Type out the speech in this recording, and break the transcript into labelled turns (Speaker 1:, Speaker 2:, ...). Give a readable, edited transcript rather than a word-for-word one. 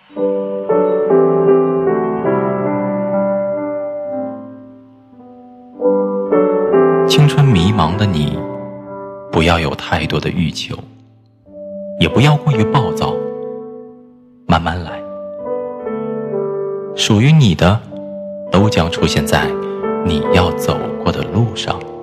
Speaker 1: 青春迷茫的你，不要有太多的欲求，也不要过于暴躁，慢慢来。属于你的，都将出现在你要走过的路上。